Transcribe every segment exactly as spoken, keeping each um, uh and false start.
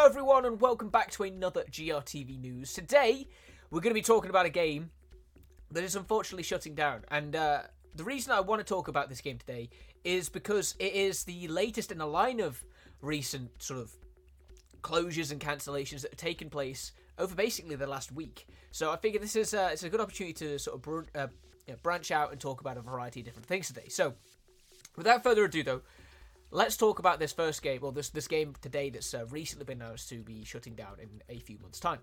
everyone, and welcome back to another G R T V News. Today, we're going to be talking about a game that is unfortunately shutting down. And uh, the reason I want to talk about this game today is because it is the latest in a line of recent sort of closures and cancellations that have taken place over basically the last week. So I figure this is uh, it's a good opportunity to sort of br- uh, you know, branch out and talk about a variety of different things today. So, without further ado, though, let's talk about this first game, or this this game today that's uh, recently been announced to be shutting down in a few months' time.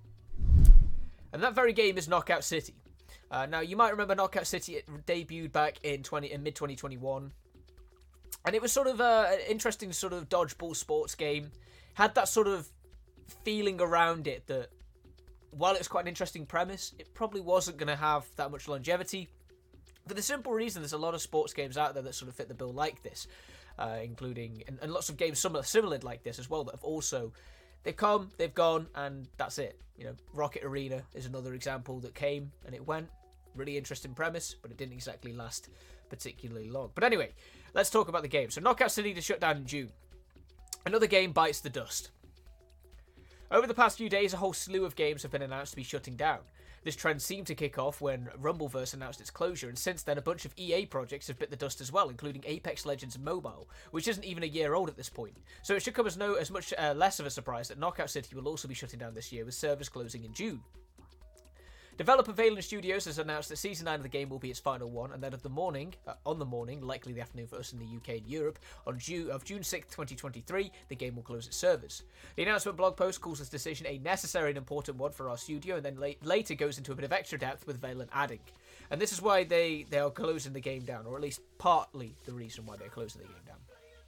And that very game is Knockout City. Uh, now, you might remember Knockout City. It debuted back in twenty in mid twenty twenty-one, and it was sort of uh, an interesting sort of dodgeball sports game. Had that sort of feeling around it that while it was quite an interesting premise, it probably wasn't going to have that much longevity. For the simple reason, there's a lot of sports games out there that sort of fit the bill like this. Uh, including, and, and lots of games similar, similar like this as well, that have also, they've come, they've gone, and that's it. You know, Rocket Arena is another example that came and it went. Really interesting premise, but it didn't exactly last particularly long. But anyway, let's talk about the game. So Knockout City to shut down in June. Another game bites the dust. Over the past few days, a whole slew of games have been announced to be shutting down. This trend seemed to kick off when Rumbleverse announced its closure, and since then a bunch of E A projects have bit the dust as well, including Apex Legends Mobile, which isn't even a year old at this point. So it should come as no as much uh, less of a surprise that Knockout City will also be shutting down this year, with servers closing in June. Developer Valen Studios has announced that Season nine of the game will be its final one, and that of the morning, uh, on the morning, likely the afternoon for us in the U K and Europe, on June, of June sixth, twenty twenty-three, the game will close its servers. The announcement blog post calls this decision a necessary and important one for our studio, and then la- later goes into a bit of extra depth with Valen adding. And this is why they, they are closing the game down, or at least partly the reason why they're closing the game down.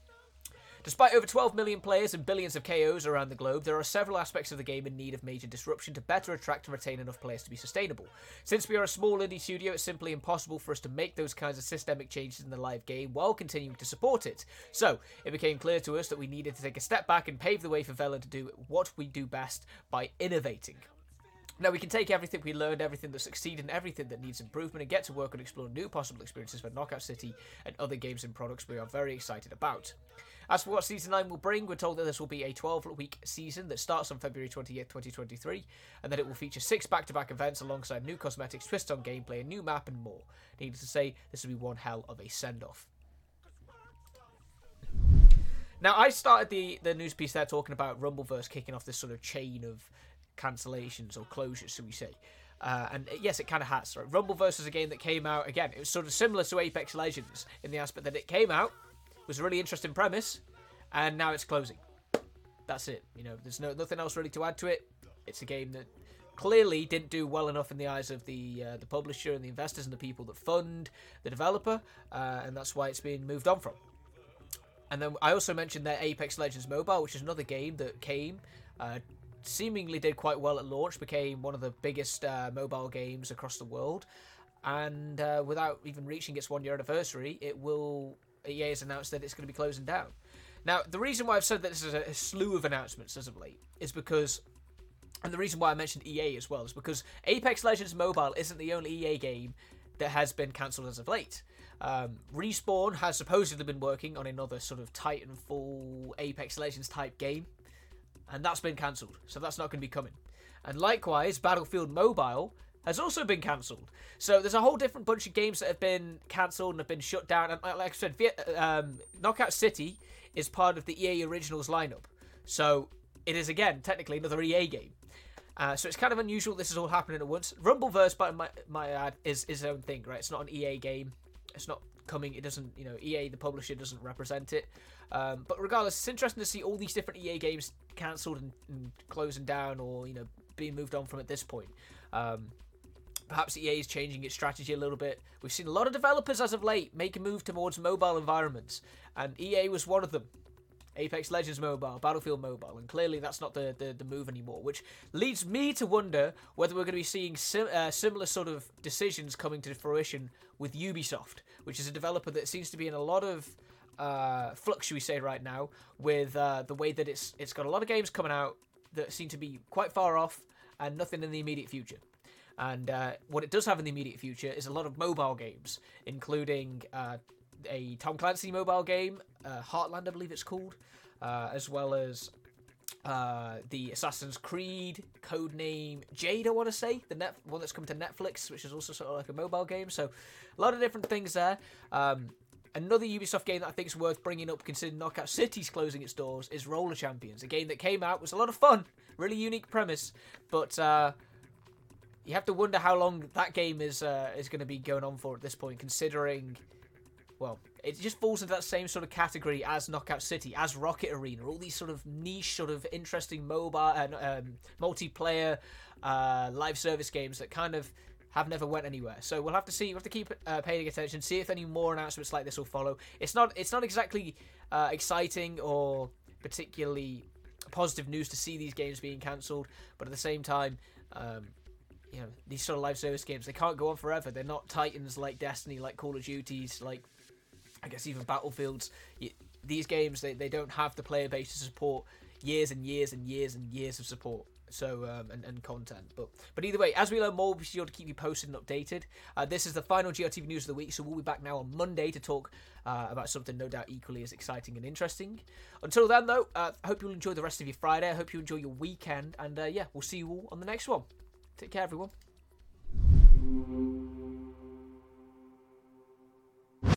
Despite over twelve million players and billions of K Os around the globe, there are several aspects of the game in need of major disruption to better attract and retain enough players to be sustainable. Since we are a small indie studio, it's simply impossible for us to make those kinds of systemic changes in the live game while continuing to support it. So, it became clear to us that we needed to take a step back and pave the way for Velen to do what we do best by innovating. Now, we can take everything we learned, everything that succeeded, and everything that needs improvement, and get to work on exploring new possible experiences for Knockout City and other games and products we are very excited about. As for what Season nine will bring, we're told that this will be a twelve-week season that starts on February twentieth, twenty twenty-three, and that it will feature six back-to-back events alongside new cosmetics, twists on gameplay, a new map, and more. Needless to say, this will be one hell of a send-off. Now, I started the, the news piece there talking about Rumbleverse kicking off this sort of chain of cancellations or closures, so we say. Uh, and yes, it kind of has. Right? Rumbleverse is a game that came out, again, it was sort of similar to Apex Legends in the aspect that it came out, was a really interesting premise, and now it's closing. That's it. You know, there's no nothing else really to add to it. It's a game that clearly didn't do well enough in the eyes of the uh, the publisher and the investors and the people that fund the developer, uh, and that's why it's being moved on from. And then I also mentioned that Apex Legends Mobile, which is another game that came, uh, seemingly did quite well at launch, became one of the biggest uh, mobile games across the world, and uh, without even reaching its one-year anniversary, it will... E A has announced that it's going to be closing down. Now, the reason why I've said that this is a, a slew of announcements as of late is because, and the reason why I mentioned E A as well, is because Apex Legends Mobile isn't the only E A game that has been cancelled as of late. Um, Respawn has supposedly been working on another sort of Titanfall Apex Legends type game, and that's been cancelled, so that's not going to be coming. And likewise, Battlefield Mobile has also been cancelled. So there's a whole different bunch of games that have been cancelled and have been shut down. And like I said, um, Knockout City is part of the E A Originals lineup. So it is, again, technically another E A game. Uh, so it's kind of unusual this is all happening at once. Rumbleverse, by my, my ad, is, is its own thing, right? It's not an E A game. It's not coming. It doesn't, you know, E A, the publisher, doesn't represent it. Um, but regardless, it's interesting to see all these different E A games cancelled and, and closing down, or, you know, being moved on from at this point. Um, Perhaps E A is changing its strategy a little bit. We've seen a lot of developers as of late make a move towards mobile environments, and E A was one of them. Apex Legends Mobile, Battlefield Mobile, and clearly that's not the, the, the move anymore, which leads me to wonder whether we're going to be seeing sim- uh, similar sort of decisions coming to fruition with Ubisoft, which is a developer that seems to be in a lot of uh, flux, should we say, right now, with uh, the way that it's it's got a lot of games coming out that seem to be quite far off and nothing in the immediate future. And uh, what it does have in the immediate future is a lot of mobile games, including uh, a Tom Clancy mobile game, uh, Heartland, I believe it's called, uh, as well as uh, the Assassin's Creed codename Jade, I want to say, the net one that's come to Netflix, which is also sort of like a mobile game. So a lot of different things there. Um, another Ubisoft game that I think is worth bringing up, considering Knockout City's closing its doors, is Roller Champions. A game that came out, was a lot of fun, really unique premise, but uh, you have to wonder how long that game is uh, is going to be going on for at this point, considering, well, it just falls into that same sort of category as Knockout City, as Rocket Arena, all these sort of niche, sort of interesting mobile and um, multiplayer uh, live service games that kind of have never went anywhere. So we'll have to see. We'll have to keep uh, paying attention, see if any more announcements like this will follow. It's not. It's not exactly uh, exciting or particularly positive news to see these games being cancelled, but at the same time, um, you know, these sort of live service games, they can't go on forever. They're not titans like Destiny, like Call of Duties, like, I guess, even Battlefields. These games, they, they don't have the player base to support years and years and years and years of support. So um, and, and content, but but either way, as we learn more, we'll be sure to keep you posted and updated. Uh, this is the final G R T V news of the week, so we'll be back now on Monday to talk uh, about something no doubt equally as exciting and interesting. Until then, though, uh, I hope you'll enjoy the rest of your Friday. I hope you enjoy your weekend, and uh, yeah, we'll see you all on the next one. Take care, everyone.